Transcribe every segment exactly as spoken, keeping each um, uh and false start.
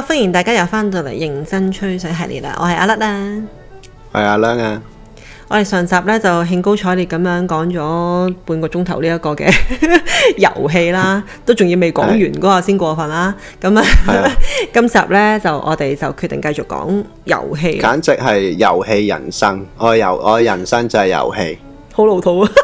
歡迎大家又翻到嚟認真吹水系列啦，我係阿甩啦， 係阿亮啊。 我哋上集咧就興高采烈咁樣講咗半個鐘頭呢一個嘅遊戲啦，都仲要未講完嗰個先過分啦。咁啊，今集咧就我哋就決定繼續講遊戲， 簡直係遊戲人生。我遊我人生就係遊戲， 好老土啊！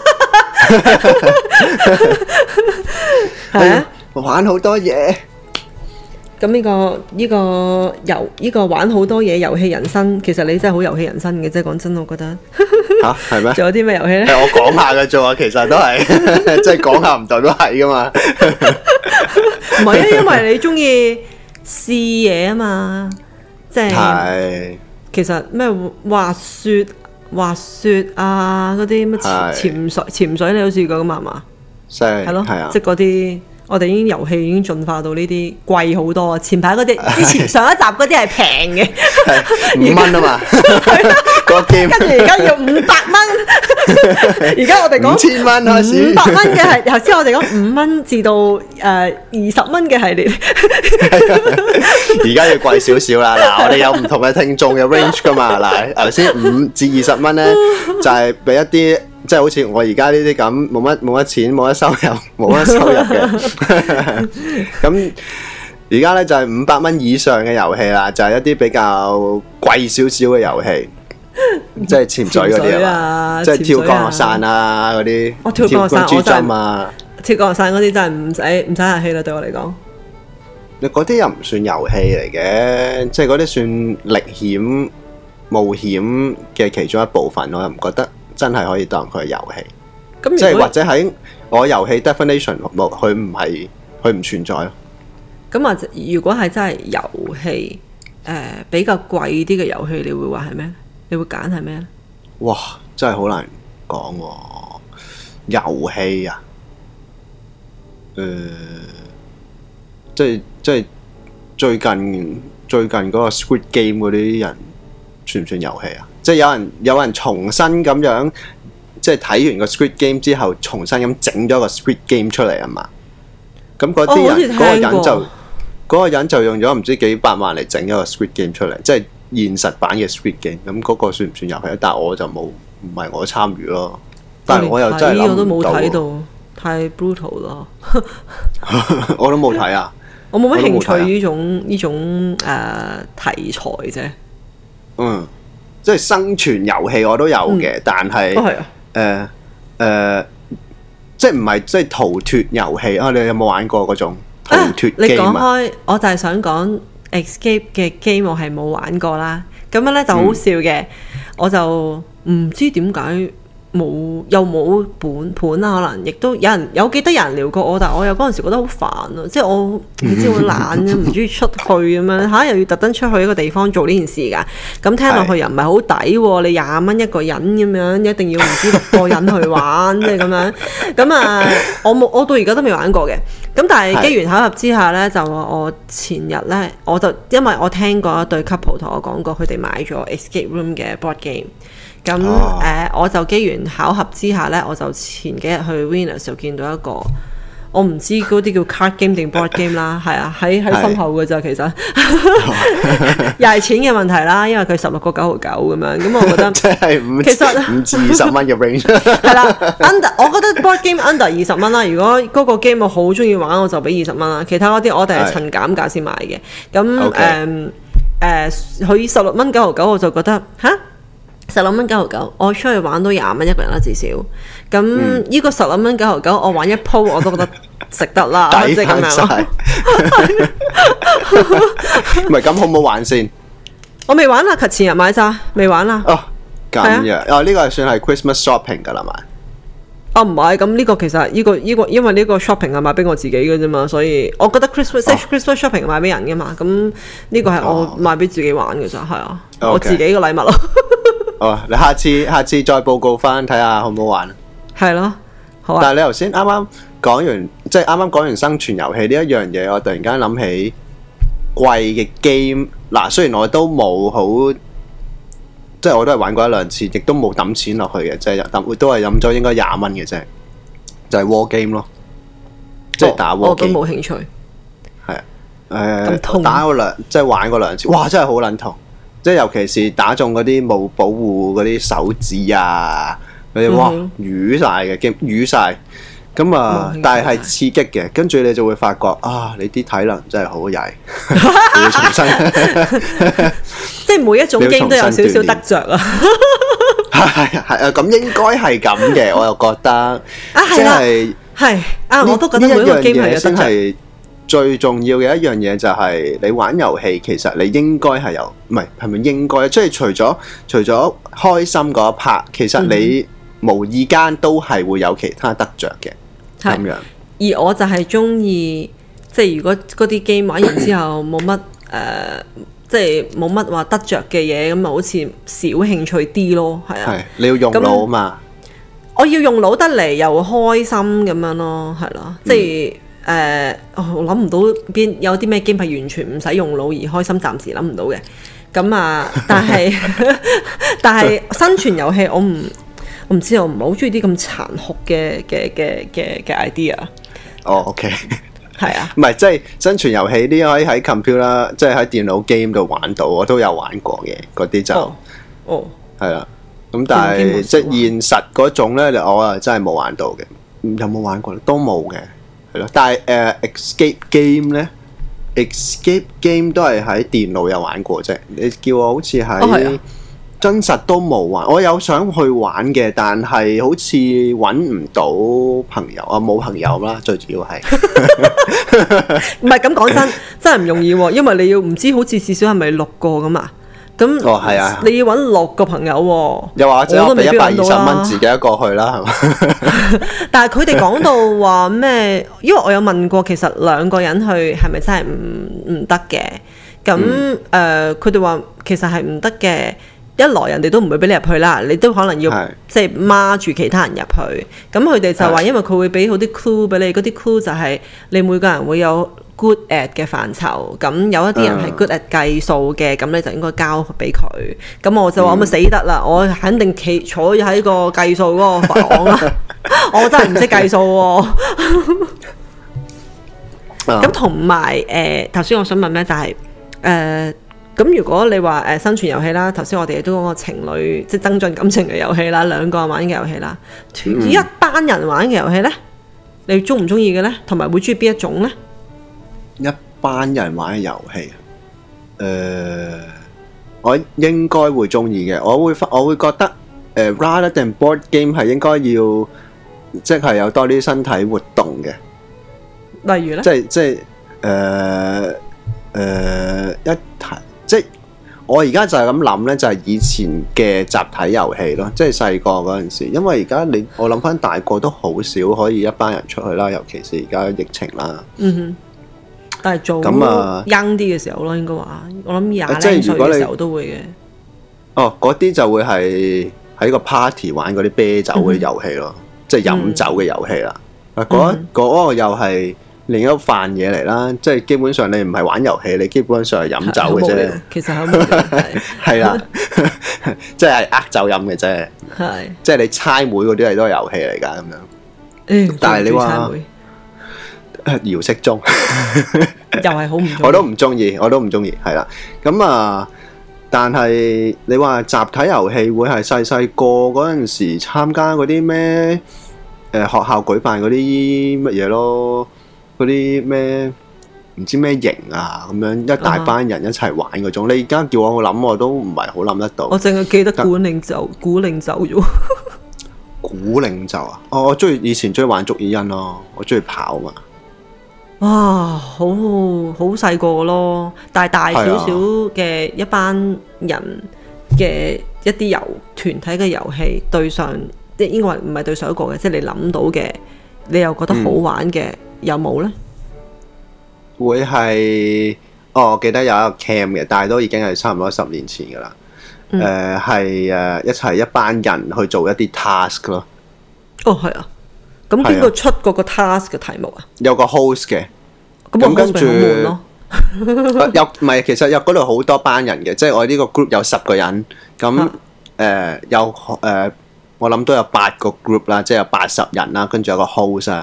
係啊， 玩好多嘢。 咁呢、這個呢、這個遊呢、這個玩好多嘢遊戲人生，其實你真係好遊戲人生嘅，即係講真，我覺得吓係咩？仲有啲咩遊戲咧？ 我講下嘅啫，其實都係即係講下唔代表係噶嘛。 唔係啊，因為你中意試嘢啊嘛，即係其實咩滑雪、滑雪啊，嗰啲乜潛潛水、潛水你都試過噶嘛？係嘛？係咯，係啊，即係嗰啲。我哋已經遊戲已經進化到呢啲貴好多啊！前排嗰啲之前上一集嗰啲係平嘅， 五蚊啊嘛，個 game 跟住而家要五百蚊，而家我哋講五千蚊開始， 五百蚊嘅係頭先我哋講五蚊至到誒二十蚊嘅系列， 而家要貴少少啦。嗱，我哋有唔同嘅聽眾嘅 range 噶嘛。嗱，頭先五至二十蚊咧，就係俾一啲。即係好似我而家呢啲咁冇乜冇乜錢冇乜收入冇乜收入嘅，咁而家咧就係五百蚊以上嘅遊戲啦，就係、是、一啲比較貴少少嘅遊戲，即係潛水嗰啲啊，即係跳降落傘啊嗰啲， 我跳降落傘跳珠針啊， 跳降落傘嗰啲真係唔使唔使客氣啦，對我嚟講。 你嗰啲又唔算遊戲嚟嘅，即係嗰啲算歷險冒險嘅其中一部分，我又唔覺得。真係可以當佢係遊戲，即係或者喺我遊戲 definition 冇，佢唔係佢唔存在咯。 咁啊，如果係真係遊戲，誒、呃、比較貴啲嘅遊戲，你會話係咩？你會揀係咩咧？ 哇，真係好難講喎！遊戲啊，誒、呃，即係即係最近最近嗰個 Squid Game 嗰啲人算唔算遊戲啊？即係有人有人重新咁樣，即係睇完個 Squid Game 之後，重新咁整咗個 Squid Game 出嚟啊嘛。咁嗰啲人嗰、哦、個人就嗰、嗰個人就用咗唔知幾百萬嚟整一個 Squid Game 出嚟，即係現實版嘅 Squid Game。咁嗰個算唔算遊戲？但係我就冇，唔係我參與咯。但係我又真係諗唔到。我都冇睇到，太 brutal 咯。我都冇睇啊！ 我冇乜興趣呢種呢種誒、呃、題材啫。 嗯。即係生存遊戲我都有嘅、嗯，但係誒誒，即係唔係即係逃脫遊戲啊？你有冇玩過嗰種逃脫 game 啊？你講開， 我就係想講 Escape 嘅 game 我係冇玩過啦。咁樣咧就好笑嘅、嗯，我就唔知點解冇又冇本盤啊，可能亦都有人有記得有人聊過我，但係我又嗰陣時覺得好煩啊，即係我你知我懶嘅，唔中意出去咁樣嚇，又要特登出去一個地方做呢件事㗎。咁聽落去又唔係好抵喎，你廿蚊一個人咁樣，一定要唔知六個人去玩，即係咁樣。咁啊，我冇我到而家都未玩過嘅。咁但係機緣巧合之下咧，就我前日咧，我就因為我聽過一對 couple 同我講過，佢哋買咗 Escape Room 嘅 board game。咁誒、oh. 呃，我就機緣巧合之下咧，我就前幾日去 Winners 就見到一個，我唔知嗰啲叫 card game 定 board game 啦，係啊，喺喺身後嘅咋，其實又係錢嘅問題啦，因為佢十六個九毫九咁樣，咁我覺得即係五，其實五至二十蚊嘅 range 係啦，under 我覺得 board game under 二十蚊啦。如果嗰個 game 我好中意玩，我就俾二十蚊啦。其他嗰啲我哋係趁減價先買嘅。咁誒誒，佢十六蚊九毫九，我就覺得吓。十六蚊九毫九，我出去玩都廿蚊一個人啦，至少。咁呢、嗯、個十六蚊九毫九，我玩一鋪我都覺得值得啦，即係咁樣。 唔係咁好唔好玩先？ 我未玩啦，及前日買咋，未玩啦。 哦，咁樣哦，呢、這個係算係 Christmas shopping 噶啦嘛？ 哦，唔係，咁呢個其實呢、這個呢、這個，因為呢個 shopping 係買俾我自己嘅啫嘛，所以我覺得 Christmas、哦、Christmas shopping 係買俾人嘅嘛，咁呢個係我買俾自己玩嘅咋，係、哦、啊，okay. 我自己嘅禮物咯。 哦，你下次下次再報告翻睇下好唔好玩？ 係咯，好啊。 但係你頭先啱啱講完，即係啱啱講完生存遊戲呢一樣嘢，我突然間諗起貴嘅 game。嗱，雖然我都冇好，即係我都係玩過一兩次，亦都冇抌錢落去嘅，即係抌都係飲咗應該廿蚊嘅啫，就係 war game 咯，即係打 war game。我都冇興趣。係啊， 誒痛打過兩即係玩過兩次，哇！真係好撚痛，即係尤其是打中嗰啲冇保護嗰啲手指啊，嗰啲哇瘀晒嘅，驚瘀晒。咁啊，但係係刺激嘅，跟住你就會發覺啊，你啲體能真係好曳，你要重新， 即係每一種 game 都有少少得着啊。 係係啊，咁應該係咁嘅，我又覺得啊， 係啦，係啊，我都覺得每一個 game 係有得着。 最重要嘅一樣嘢就係你玩遊戲，其實你應該係有，唔係係咪應該？即係除咗除咗開心嗰一 part，其實你無意間都係會有其他得着嘅。咁樣， 而我就係中意，即係如果嗰啲 game 玩完之後冇乜誒，即係冇乜話得着嘅嘢，咁啊好似少興趣啲咯，係啊。係你要用腦啊嘛？ 我要用腦得嚟又開心咁樣咯，係咯，嗯、即係誒、呃，我諗唔到邊有啲咩 game 係完全唔使用腦而開心，暫時諗唔到嘅。咁啊，但係但係生存遊戲我唔。我唔知，我唔係好中意啲咁殘酷嘅嘅嘅嘅嘅 idea。 哦、oh，OK， 係啊， 唔係即係生存遊戲啲可以喺 computer， 即係喺電腦 game 度玩到，我都有玩過嘅嗰啲就，哦，係啦。咁但係即係現實嗰種咧，我啊真係冇玩到嘅。有冇玩過咧？都冇嘅，係咯。但係誒、uh, escape game 咧 ，escape game 都係喺電腦有玩過啫。你叫我好似喺。哦真實都冇玩，我有想去玩嘅，但係好似揾唔到朋友啊，冇朋友啦，最主要係。 唔係咁講真，真係唔容易喎，因為你要唔知好似至少係咪六個咁啊？咁哦係啊， 你要揾六個朋友喎。 又或者我俾一百二十蚊自己一個去啦，係嘛？但係佢哋講到話咩？因為我有問過，其實兩個人去係咪真係唔唔得嘅？咁誒，佢哋話其實係唔得嘅。一來人哋都唔會俾你入去啦，你都可能要即係孖住其他人入去。咁佢哋就話，因為佢會俾好啲 clue 俾你，嗰啲 clue 就係你每個人會有 good at 嘅範疇。咁有一啲人係 good at 計數嘅，咁你就應該交俾佢。咁我就話：咁咪死得啦！我肯定企坐喺個計數嗰個房啦。我真係唔識計數喎。咁同埋誒，頭先我想問咩就係誒。咁如果你話誒、呃、生存遊戲啦，頭先我哋都講個情侶即係增進感情嘅遊戲啦，兩個人玩嘅遊戲啦，嗯、一班人玩嘅遊戲呢，你中唔中意嘅呢？同埋會中意邊一種呢？ 一班人玩嘅遊戲，誒、呃，我應該會中意嘅。我會我會覺得誒、呃、rather than board game 係應該要即係有多啲身體活動嘅。例如呢？即係即係誒誒一題。即係我而家就係咁諗呢，就係、是、以前嘅集體遊戲咯，即係細個嗰陣時。因為而家你我諗翻大個都好少可以一班人出去啦，尤其是而家疫情啦。嗯哼， 但係做咁啊 young 啲嘅時候咯，應該話我諗廿零歲嘅時候都會嘅。 哦，嗰啲就會係喺個 party 玩嗰啲啤酒嘅遊戲咯，嗯、即係飲酒嘅遊戲啦。嗰嗰、嗯嗰個又係。另一飯嘢嚟啦，即係基本上你唔係玩遊戲，你基本上係飲酒嘅啫。其實係係啦，即係呃酒飲嘅啫。係，即係你猜枚嗰啲係都係遊戲嚟㗎咁樣。嗯，但係你話姚式中又係好唔，我都唔中意，我都唔中意，係啦。咁啊，但係你話集體遊戲會係細細個嗰陣時參加嗰啲咩？誒學校舉辦嗰啲乜嘢咯？嗰啲咩唔知咩營啊咁樣，一大班人一齊玩嗰種。你而家叫我諗，我都唔係好諗得到。我淨係記得古領袖，古領袖啫。古領袖啊！哦，我中意以前中意玩捉伊人咯，我中意跑嘛。哇，好好細個咯，但係大少少嘅一班人嘅一啲遊團體嘅遊戲對上，即係應該話唔係對上一個嘅，即係你諗到嘅，你又覺得好玩嘅。嗯有冇呢？會係哦，我記得有一個 camp 嘅，但係都已經係差唔多十年前噶啦。誒、嗯，係誒、呃、一齊一班人去做一啲 task 咯。哦，係啊。咁邊個出嗰個 task 嘅題目啊？有個 host 嘅。咁跟住有唔係？其實有嗰度好多班人嘅，即係我呢個 group 有十個人。咁誒、啊呃、有誒、呃，我諗都有八個 group 啦，即係有八十人啦。跟住有個 host 啊。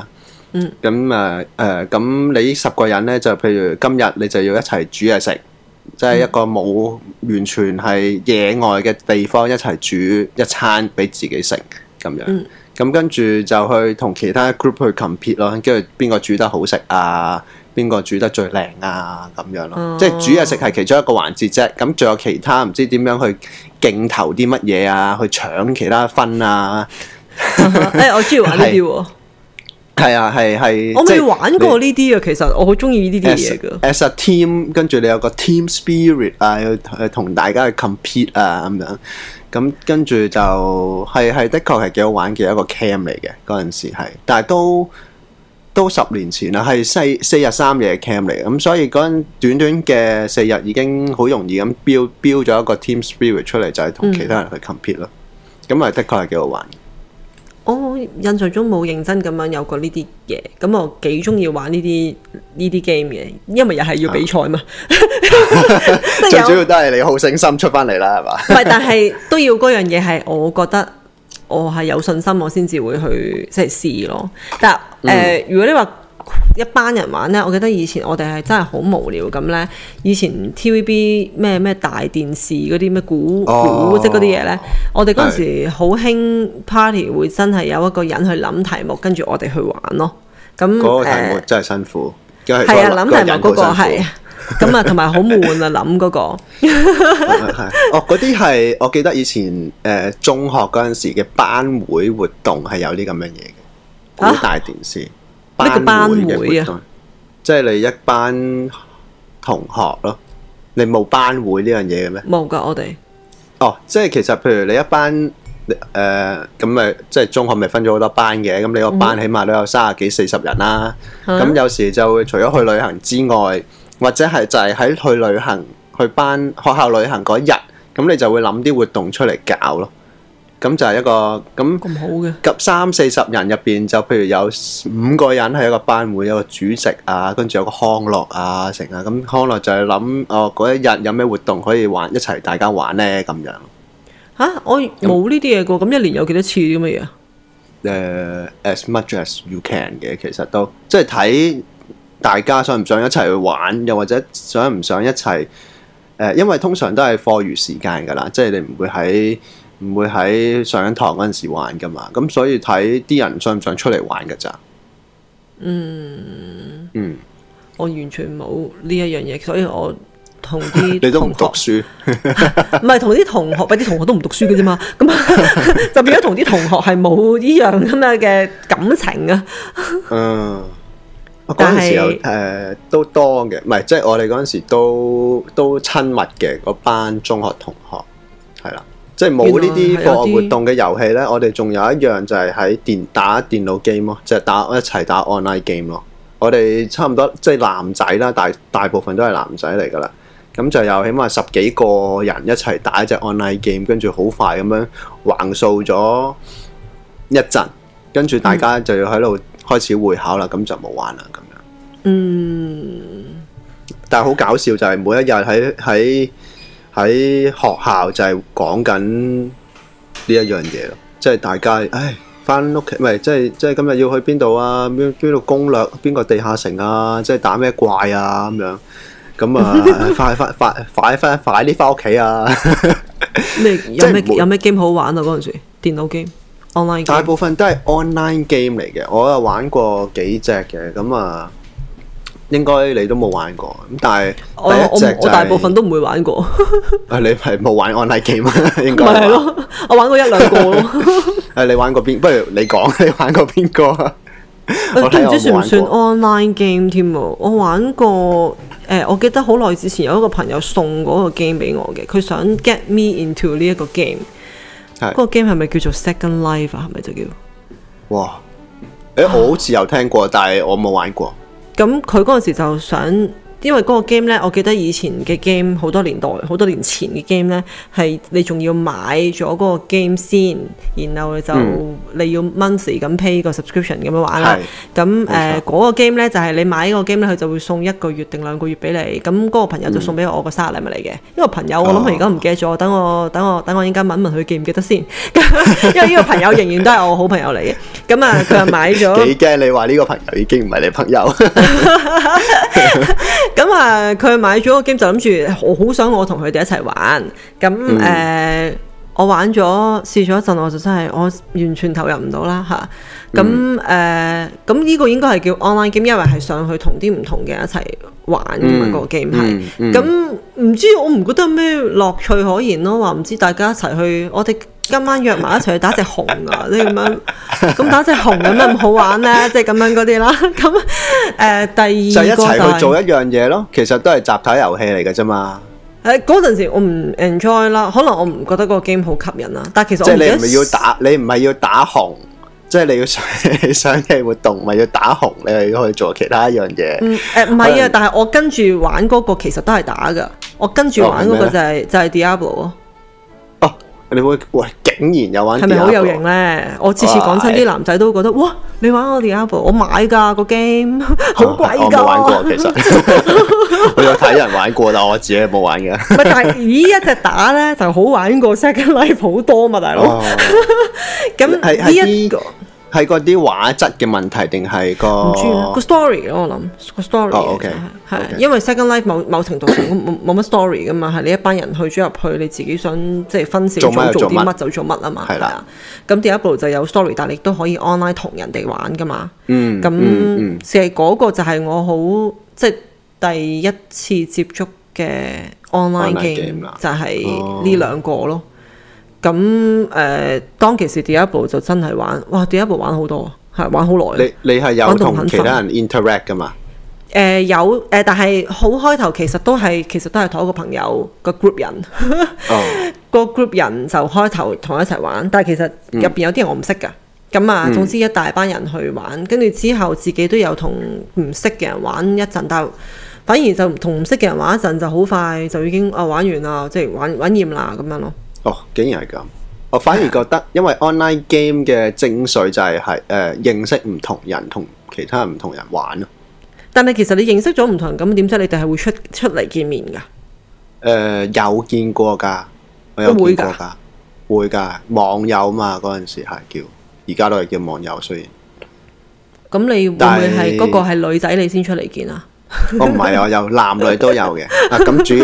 嗯。咁誒誒，咁你十個人咧，就譬如今日你就要一齊煮嘢食，即係一個冇完全係野外嘅地方一齊煮一餐俾自己食咁樣。嗯。咁跟住就去同其他 group 去 compete 咯，跟住邊個煮得好食啊？邊個煮得最靚啊？咁樣咯，哦、即係煮嘢食係其中一個環節啫。咁仲有其他唔知點樣去競投啲乜嘢啊？去搶其他分啊？ 誒、欸，我中意玩呢啲喎。 係啊，係係。 我未玩過呢啲啊，其實我好中意呢啲嘢㗎。 As a team， 跟住你有個 team spirit 啊，要同大家去 compete 啊咁樣。咁跟住就係係的確係幾好玩嘅一個 camp 嚟嘅，嗰陣時係，但係都都十年前啦，係四四日三夜嘅 camp 嚟嘅，咁所以嗰陣短短嘅四日已經好容易咁標標咗一個 team spirit 出嚟，就係、是、同其他人去 compete 咯。咁啊、嗯，的確係幾好玩。 我印象中冇認真咁樣有過呢啲嘢，咁我幾中意玩呢啲呢啲 game 嘅，因為又係要比賽嘛。 最主要都係你好勝心出翻嚟啦，係嘛？ 唔係，但係都要嗰樣嘢係，我覺得我係有信心，我先至會去即係試咯。但係誒、呃嗯，如果你話一班人玩咧，我記得以前我哋係真係好無聊咁咧。以前 T V B 咩咩大電視嗰啲咩估估即係嗰啲嘢咧，我哋嗰陣時好興 party 會真係有一個人去諗題目，跟住我哋去玩咯。咁嗰個題目真係辛苦，係、呃、 啊，諗題目嗰個係咁啊，同埋好悶啊，諗嗰個。 哦，嗰啲係我記得以前誒、呃、中學嗰陣時嘅班會活動係有啲咁樣嘢嘅，估大電視。啊班會班會啊，即係你一班同學咯，你冇班會呢樣嘢嘅咩？冇噶，我哋。哦，即係其實譬如你一班誒咁咪，即係中學咪分咗好多班嘅，咁你個班起碼都有三十幾四十人啦。咁、嗯、有時就會除咗去旅行之外，或者係就係喺去旅行去班學校旅行嗰日，咁你就會諗啲活動出嚟搞咯。咁就係一個咁咁好嘅，及三四十人入邊，就譬如有五個人係一個班會，有個主席啊，跟住有個康樂啊，成啊，咁康樂就係諗哦嗰一日有咩活動可以玩一齊大家玩咧咁樣。嚇、啊！我冇呢啲嘢過，咁、嗯、一年有幾多次啲乜嘢啊？誒、uh, ，as much as you can 嘅，其實都即係睇大家想唔想一齊去玩，又或者想唔想一齊誒、呃，因為通常都係課餘時間㗎啦，即係你唔會喺。唔會喺上緊堂嗰陣時玩噶嘛，咁所以睇啲人想唔想出嚟玩噶咋。嗯嗯，我完全冇呢一樣嘢，所以我同啲你都唔讀書，唔係同啲同學，啲同學都唔讀書嘅啫嘛。咁就變咗同啲同學係冇呢樣咁樣嘅感情啊。嗯，嗰陣時候誒、呃、都多嘅，唔係即係我哋嗰陣時都都親密嘅嗰班中學同學係啦。即係冇呢啲課外活動嘅遊戲咧，我哋仲有一樣就係喺電打電腦 game 咯，即係打一齊打 online game 咯。我哋差唔多即係男仔啦，大大部分都係男仔嚟噶啦。咁就有起碼十幾個人一齊打一隻 online game，跟住好快咁樣橫掃咗一陣，跟住大家就要喺度開始會考啦，咁、嗯、就冇玩啦咁樣。嗯，但係好搞笑就係每一日喺喺。喺學校就係講緊呢一樣嘢咯，即係大家唉翻屋企，唔係即係即係今日要去邊度啊？邊邊度攻略邊個地下城啊？即係打咩怪啊？咁樣咁啊，快快快快快快啲翻屋企啊！咩有咩有咩 game 好玩啊？嗰陣時電腦 game online game 大部分都係 online game 嚟嘅，我有玩過幾隻嘅，咁啊。應該你都冇玩過，咁但係第一隻、就是、我，我，我大部分都唔會玩過。啊，你係冇玩 online game 啊？應該係咯，我玩過一兩個咯。誒，你玩過邊？不如你講，你玩過邊個啊？我都唔知算唔算 online game 添喎。我玩過誒、呃，我記得好耐之前有一個朋友送嗰個 game 俾我嘅，佢想 get me into 呢一個 game。嗰、嗰個 game 係咪叫做 Second Life 啊？係咪就叫？哇！誒，我好似有聽過，但係我冇玩過。咁佢嗰陣時就想，因為嗰個 game 咧，我記得以前嘅 game 好多年代、好多年前嘅 game 咧，係你仲要買咗嗰個 game 先，然後就你要 monthly 咁 pay 個 subscription 咁樣玩啦。咁誒嗰個 game 咧就係、是、你買呢個 game 咧，佢就會送一個月定兩個月俾你。咁嗰個朋友就送俾我個生日禮物嚟嘅。呢、嗯、個朋友我諗佢而家唔記得咗，等我等我等我應該問一問佢記唔記得先。因為呢個朋友仍然都係我好朋友嚟嘅。 咁啊，佢又買咗。 幾驚你話呢個朋友已經唔係你朋友。 咁啊，佢買咗個 game 就諗住，我好想我同佢哋一齊玩。咁誒、嗯呃，我玩咗試咗一陣，我就真係我完全投入唔到啦嚇。咁誒，咁呢、嗯呃、個應該係叫 online game，因為係上去同啲唔同嘅人一齊玩㗎嘛，嗯、個 game 係。咁唔、嗯嗯、知我唔覺得有咩樂趣可言咯，話唔知大家一齊去，我哋今晚約埋一齊去打隻熊啊，即係咁樣。咁打隻熊有咩咁好玩咧？即係咁樣嗰啲啦。咁誒、呃，第二個就係、 就一齊去做一樣嘢咯。其實都係集體遊戲嚟嘅啫嘛。 誒嗰陣時我唔 enjoy 啦，可能我唔覺得嗰個 game 好吸引啦。但係其實我即係你唔係要打，你唔係要打熊。即係你要上上嘅活動，咪要打紅，你係可以做其他一樣嘢。嗯，誒唔係啊，但係我跟住玩嗰個其實都係打㗎。我跟住玩嗰個就係、是哦、就係 Diablo 咯。哦，你會喂竟然有玩 Diablo？係咪好有型咧？我次次講親啲男仔都覺得哇，你玩我 Diablo，我買㗎個 game，好貴㗎。我冇玩過其實，我有睇人玩過，但我自己冇玩嘅。唔係，但係咦一隻打咧就好玩過 Second Life 好多嘛，大佬。咁呢一個。係嗰啲畫質嘅問題定係個唔知個 story 咯？我諗個 story 哦，OK 係因為 Second Life 某某程度上冇冇乜 story 噶嘛，係你一班人去咗入去，你自己想即係分小組做啲乜就做乜啊嘛，係啦。咁Diablo就有 story，但係你都可以 online 同人哋玩噶嘛。嗯，咁其實嗰個就係我好即係第一次接觸嘅 online game，就係呢兩個咯。咁誒、呃，當其時 Diablo 就真係玩，哇 Diablo 玩好多，係玩好耐。你你係有同其他人 interact 噶嘛？誒、呃、有誒、呃，但係好開頭其實都係其實都係同一個朋友個 group 人，個、oh. group 人就開頭同我一齊玩，但係其實入邊有啲人我唔識㗎。咁、嗯、啊，總之一大班人去玩，跟住之後自己都有同唔識嘅人玩一陣，但係反而就同唔識嘅人玩一陣就好快就已經啊玩完啦，即係玩玩厭啦咁樣咯。哦，竟然係咁！我反而覺得，因為 online game 嘅精髓就係係誒認識唔同人，同其他人唔同人玩咯。但係其實你認識咗唔同人，咁點解你哋係會出出嚟見面㗎？誒、呃、有見過㗎，我有見過㗎，會㗎，網友嘛嗰陣時係叫，而家都係叫網友雖然。咁你會唔會係嗰個係女仔你先出嚟見啊？我唔係，我有男女都有嘅。啊，咁主要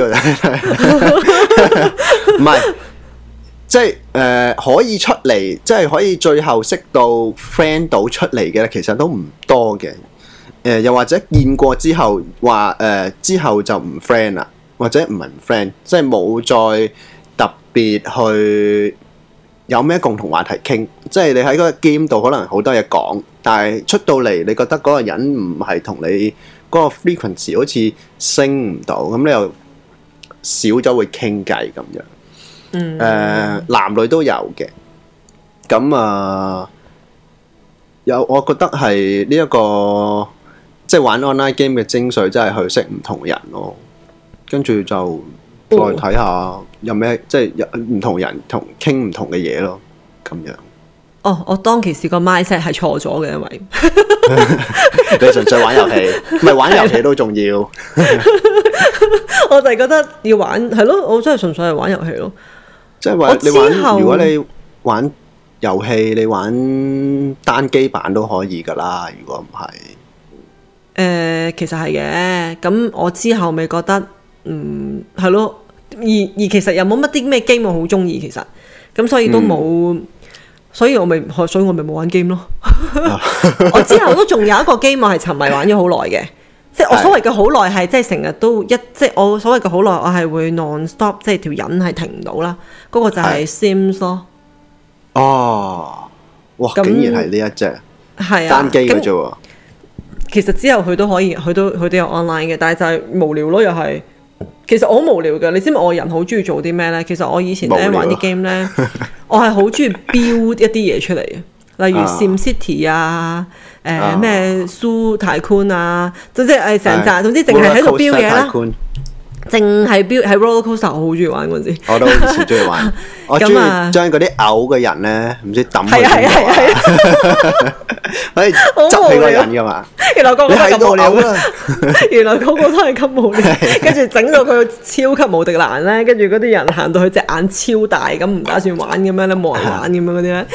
唔係。即係誒、呃、可以出嚟，即係可以最後識到 friend 到出嚟嘅，其實都唔多嘅。誒、呃、又或者見過之後話誒、呃、之後就唔 friend 啦，或者唔係唔 friend，即係冇再特別去有咩共同話題傾。即係你喺嗰個 game 度可能好多嘢講，但係出到嚟你覺得嗰個人唔係同你嗰個 frequency 好似升唔到，咁你又少咗會傾偈咁樣。嗯，誒、呃，男女都有嘅，咁啊，有我覺得係呢一個即係玩 online game 嘅精髓，真係去識唔同人咯，跟住就再睇下有咩、哦、即係有唔同人同傾唔同嘅嘢咯，咁樣。哦，我當其時個 mindset 係錯咗嘅，因為你純粹玩遊戲，唔係玩遊戲都重要。我就係覺得要玩係咯，我真係純粹係玩遊戲咯。即係話你玩，如果你玩遊戲，你玩單機版都可以噶啦。如果唔係，誒、呃，其實係嘅。咁我之後咪覺得，嗯，係咯。而而其實又冇乜啲咩 game 我好中意，其實咁所以都冇、嗯，所以我咪，所以我咪冇玩 game 咯。我之後都仲有一個 game 我係沉迷玩咗好耐嘅。即係我所謂嘅好耐係，即係成日都一，即係我所謂嘅好耐，我係會 non stop，即係條癮係停唔到啦。嗰、那個就係 Sims 咯。哦，哇！竟然係呢一隻，係啊，單機嘅啫喎。其實之後佢都可以，佢都佢都有 online 嘅，但係就係無聊咯，又係。其實我好無聊嘅，你知唔知我人好中意做啲咩咧？其實我以前咧玩啲 game 咧，我係好中意 build 一啲嘢出嚟嘅，例如 Sim City 啊。誒咩蘇太寬啊，總之誒成扎，總之淨係喺度標嘢啦，淨係標喺 roller coaster，我好中意玩嗰陣時。我都以前中意玩，我中意將嗰啲嘔嘅人咧，唔知抌佢邊度啊，可以執起個人噶嘛。原來個個都係咁無聊啊！原來個個都係咁無聊，跟住整到佢超級無敵難咧，跟住嗰啲人行到佢隻眼超大咁，唔打算玩咁樣咧，冇人玩咁樣嗰啲咧，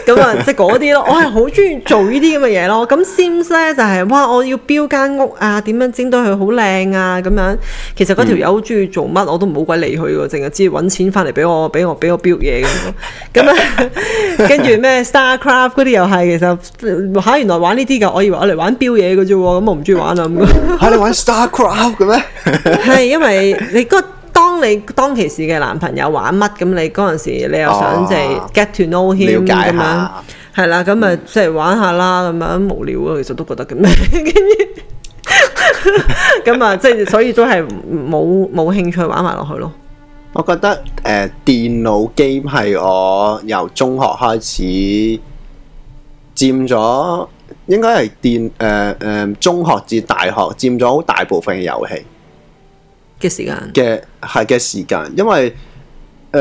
咁啊，即係嗰啲咯。我係好中意做呢啲咁嘅嘢咯。咁 Sims 咧就係、是、哇，我要標間屋啊，點樣整到佢好靚啊咁樣。其實嗰條友好中意做乜，我都唔好鬼理佢喎，淨係知揾錢翻嚟俾我，俾我俾我標嘢咁咯。咁啊，跟住咩 StarCraft 嗰啲又係，其實嚇原來玩呢啲㗎，我以為我嚟玩標嘢嘅啫喎，咁我唔中意玩啊咁。 嚇你玩 StarCraft 嘅咩？係因為你嗰。當你當其時嘅男朋友玩乜咁，你嗰陣時你又想即係 get to know him 咁樣，係啦，咁咪即係玩下啦，咁樣無聊啊，其實都覺得咁樣，跟住咁啊，即係所以都係冇冇興趣玩埋落去咯。 我覺得誒、呃、電腦 game 係我由中學開始佔咗，應該係電誒誒中學至大學佔咗好大部分嘅遊戲嘅時間嘅係嘅時間，因為誒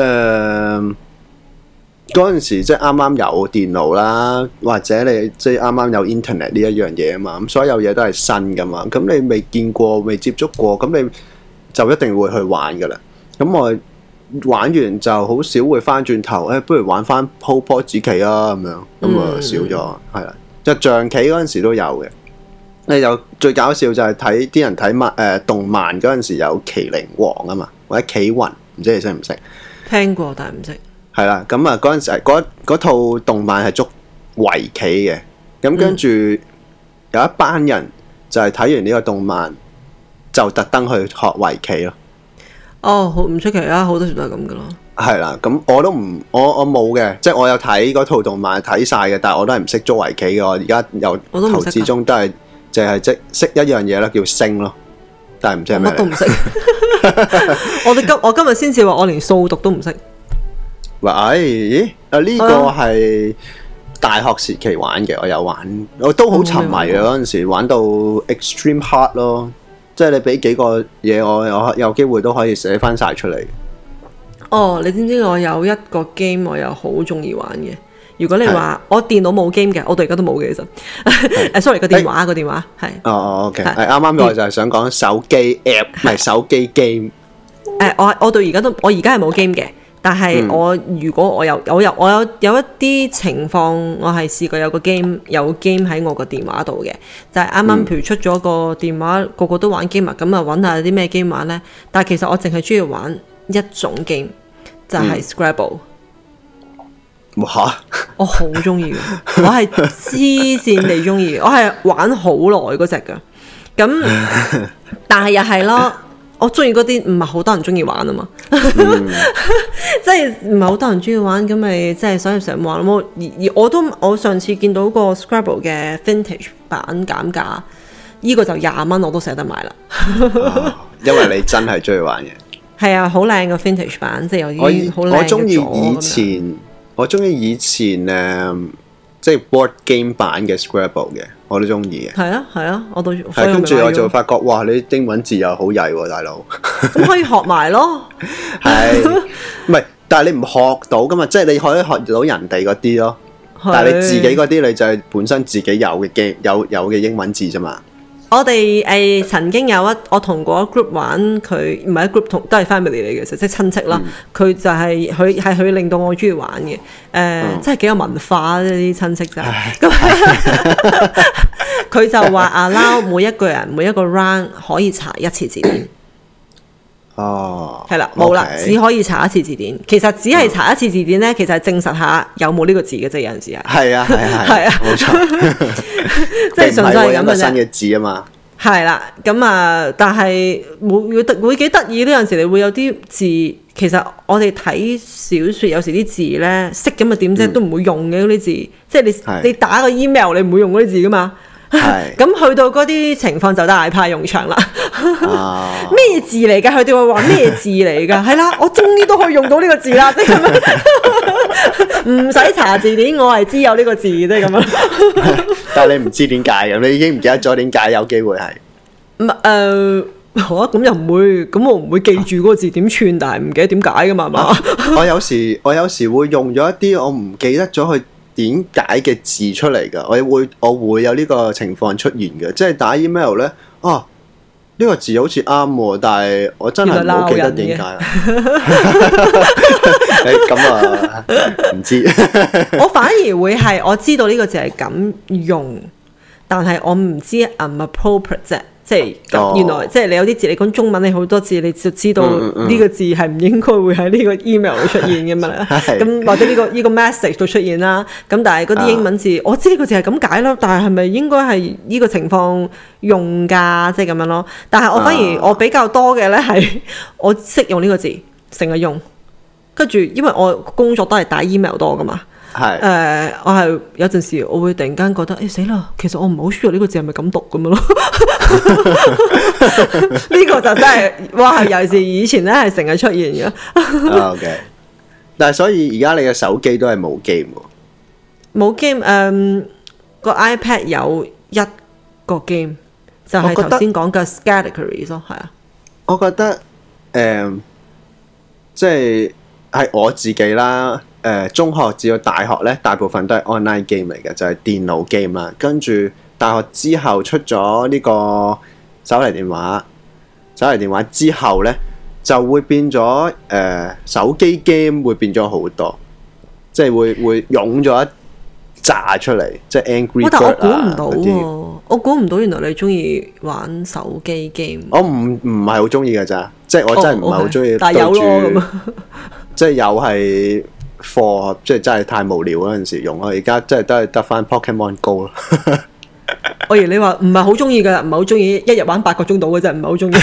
嗰陣時即係啱啱有電腦啦，或者你即係啱啱有 internet 呢一樣嘢啊嘛，咁所有嘢都係新噶嘛，咁你未見過、未接觸過，咁你就一定會去玩噶啦。咁我玩完就好少會翻轉頭，誒、哎，不如玩翻鋪波子棋啊咁樣，咁啊少咗，係啦、嗯。就象棋嗰陣時都有嘅。你就最搞笑就係睇啲人睇漫誒動漫嗰陣時有麒麟王啊嘛，或者棋魂，唔知你識唔識？聽過但係唔識。係啦，咁啊嗰陣時嗰套動漫係捉圍棋嘅，咁跟住有一班人就係睇完呢個動漫就特登去學圍棋咯。哦，好唔出奇啊，好多時都係咁噶咯。係啦，咁我都唔，我我冇嘅，即係我有睇嗰套動漫睇晒嘅，但係我都係唔識捉圍棋嘅。我而家由頭至終都係。淨係即識一樣嘢啦，叫星咯，但係唔知係咩。乜都唔識。我哋今我今日先至話，我連數獨都唔識。喂，咦？啊呢個係大學時期玩嘅，我有玩，我都好沉迷嘅嗰陣時，玩到 extreme hard 咯。即係你俾幾個嘢我，我有機會都可以寫翻晒出嚟。哦，你知唔知我有一個 game 我又好中意玩嘅？如果你話我電腦冇 game 嘅，我到而家都冇嘅其實。誒，sorry 個電話個電話係。哦，OK，係啱啱我就係想講手機 app，唔係手機 game。誒，我我到而家都我而家係冇 game 嘅，但係我如果我有我有我有有一啲情況，我係試過有個 game 有 game 喺我個電話度嘅，就係啱啱譬如出咗個電話，個個都玩 game 啊，咁啊揾下啲咩 game 玩咧。但係其實我淨係中意玩一種 game，就係 Scrabble。哇！我好中意嘅，我係黐線地中意，我係玩好耐嗰隻噶。咁但係又係咯，我中意嗰啲唔係好多人中意玩啊嘛，即係唔係好多人中意玩，咁咪即係所以成日玩咯。而而我都我上次見到個 Scrabble 嘅 Vintage 版減價，呢個就廿蚊我都捨得買啦。哦，因為你真係中意玩嘅。係啊，好靚個 Vintage 版，即係有啲好靚嘅咗。我中意以前。我中意以前誒，即係 board game 版嘅 Scrabble 嘅，我都中意嘅。係啊，係啊，我都係跟住我就發覺，哇！你英文字又好曳喎，大佬。咁可以學埋咯。係，唔係？但係你唔學到噶嘛？即係你可以學到人哋嗰啲咯，但係你自己嗰啲，你就係本身自己有嘅 game 有有嘅英文字啫嘛。我哋誒、呃、曾經有一我同嗰 group 玩，佢唔係一 group 同都係 family 嚟嘅，即係親戚啦。佢、嗯、就係佢係佢令到我中意玩嘅，誒、呃嗯、真係幾有文化呢啲親戚就係。咁佢就話 allow 每一個人每一個 round 可以查一次字典。哦，係啦，冇啦，只可以查一次字典。其實只係查一次字典咧，其實係證實下有冇呢個字嘅啫。有陣時係。係啊，係啊，係啊，冇錯。即係純粹係咁嘅啫。新嘅字啊嘛。係啦，咁啊，但係會會會幾得意呢？有陣時你會有啲字，其實我哋睇小說有時啲字咧識咁啊點啫，都唔會用嘅嗰啲字。即係你你打個 email，你唔會用嗰啲字噶嘛。係，咁去到嗰啲情況就大派用場啦。咩字嚟㗎？佢哋會話咩字嚟㗎？係啦，我終於都可以用到呢個字啦，即係咁樣，唔使查字典，我係知有呢個字，即係咁樣。但係你唔知點解嘅，你已經唔記得咗點解有機會係。唔誒，好啊，咁又唔會，咁我唔會記住嗰個字點串，但係唔記得點解㗎嘛，係嘛？我有時我有時會用咗一啲我唔記得咗去點解嘅字出嚟㗎，我會我會有呢個情況出現嘅，即係打 email 咧，哦、啊， 呢個字好似啱喎，但係我真係冇記得點解。誒咁啊，唔知。 我反而會係我知道呢個字係咁用，但係我唔知 unappropriate 啫。即係、哦、原來即係你有啲字，你講中文你好多字，你就知道呢個字係唔應該會喺呢個 email 度出現嘅嘛。咁、嗯、或者呢、這個呢、這個 message 度出現啦。咁但係嗰啲英文字，啊、我知呢個字係咁解咯。但係係咪應該係呢個情況用㗎？即係咁樣咯。但係我反而我比較多嘅咧係我識用呢個字，成日用。跟住因為我工作都係打 email 多㗎嘛。係誒、呃，我係有陣時我會突然間覺得，誒死啦！其實我唔係好 sure 呢個字係咪咁讀咁樣咯。呢個就真係哇！尤其是以前咧係成日出現嘅。 O K，但係所以而家你嘅手機都係冇 game 喎。 冇 game 誒，個 iPad 有一個 game，就係頭先講嘅 categories 咯，係啊。 我覺得誒、呃，即係係我自己啦。誒、呃、中學至到大學咧，大部分都係 online game 嚟嘅，就係、是、電腦 game 啦。跟住大學之後出咗呢個手提電話，手提電話之後咧就會變咗誒、呃、手機 game 會變咗好多，即係會會湧咗一紮出嚟，即係 Angry Bird 啊嗰啲。但我估唔到喎，我估唔到原來你中意玩手機 game。我唔唔係好中意㗎咋，即係我真係唔係好中意。但係有咯咁啊，即係有係。課即係真係太無聊嗰陣時用咯，而家真係都係得翻 Pokemon Go 咯。我以為你話唔係好中意㗎，唔係好中意，一日玩八個鐘到嘅啫，唔係好中意。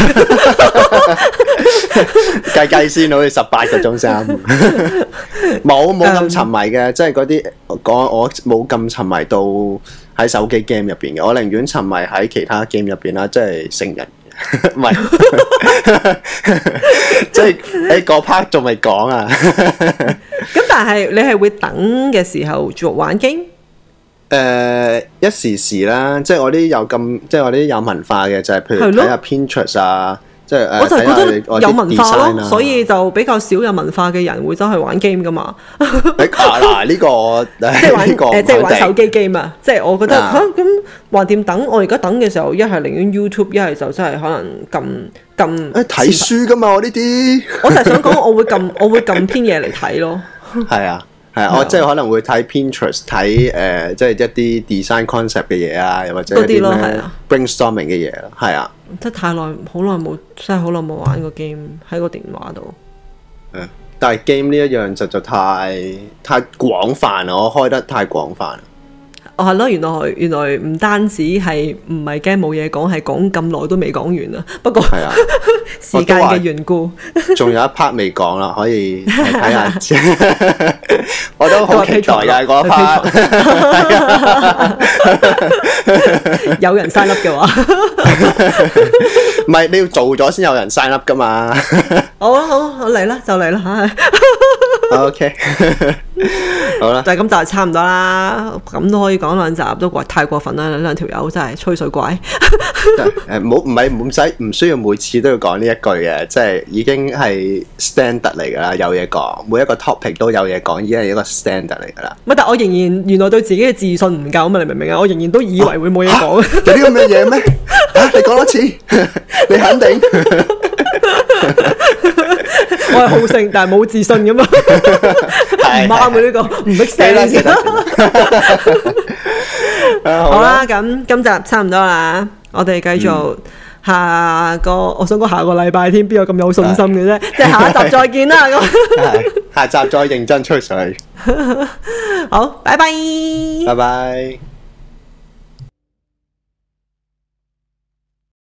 計計先，好似十八個鐘先。冇冇咁沉迷嘅，即係嗰啲講我冇咁沉迷到喺手機 game 入邊嘅，我寧願沉迷喺其他 game 入邊啦，即係成人。唔係，即係喺嗰 part 仲未講啊。咁但係你係會等嘅時候做玩 game？誒，一時時啦，即係我啲有咁，即係我啲有文化嘅，就係譬如睇下 Pinterest 啊。即係我就覺得有文化咯，所以就比較少有文化嘅人會走去玩 game 噶嘛。嗱呢個即係玩誒，即係玩手機 game 啊！即係我覺得嚇咁橫掂等，我而家等嘅時候，一係寧願 YouTube，一係就真係可能撳撳誒睇書噶嘛！我呢啲我就係想講，我會撳我會撳篇嘢嚟睇咯。係啊。係啊，我即係可能會睇 Pinterest 睇誒、呃，即係一啲 design concept 嘅嘢啊，又或者一啲咩 brainstorming 嘅嘢咯，係啊。即係太耐，好耐冇，真係好耐冇玩過 game 喺個電話度。誒，但係 game 呢一樣實在太太廣泛啦，我開得太廣泛。哦，係咯，原來原來唔單止係唔係驚冇嘢講，係講咁耐都未講完啊。不過係啊，時間嘅緣故，仲有一 part 未講啦，可以睇下。我都好期待嘅嗰一 part。有人 sign up 嘅話，唔係你要做咗先有人 sign up 噶嘛？好啊，好，我嚟啦，就嚟啦吓。OK，好啦，就係咁，就係差唔多啦。咁都可以講兩集，都過太過分啦！兩條友真係吹水怪。誒，唔好唔係唔使唔需要每次都要講呢一句嘅，即係已經係 standard 嚟噶啦，有嘢講，每一個 topic 都有嘢講，已經係一個 standard 嚟噶啦。唔係，但我仍然原來對自己嘅自信唔夠啊嘛，你明唔明啊？我仍然都以為會冇嘢講。有啲咁嘅嘢咩？啊，你講多次，你肯定？我係好勝，但係冇自信噶嘛，唔啱嘅呢個，唔 make sense。好啦，咁今集差唔多啦，我哋繼續下個，嗯、我想講下個禮拜添，邊有咁有信心嘅啫？即係下一集再見啦，咁下集再認真吹水。好，拜拜，拜拜。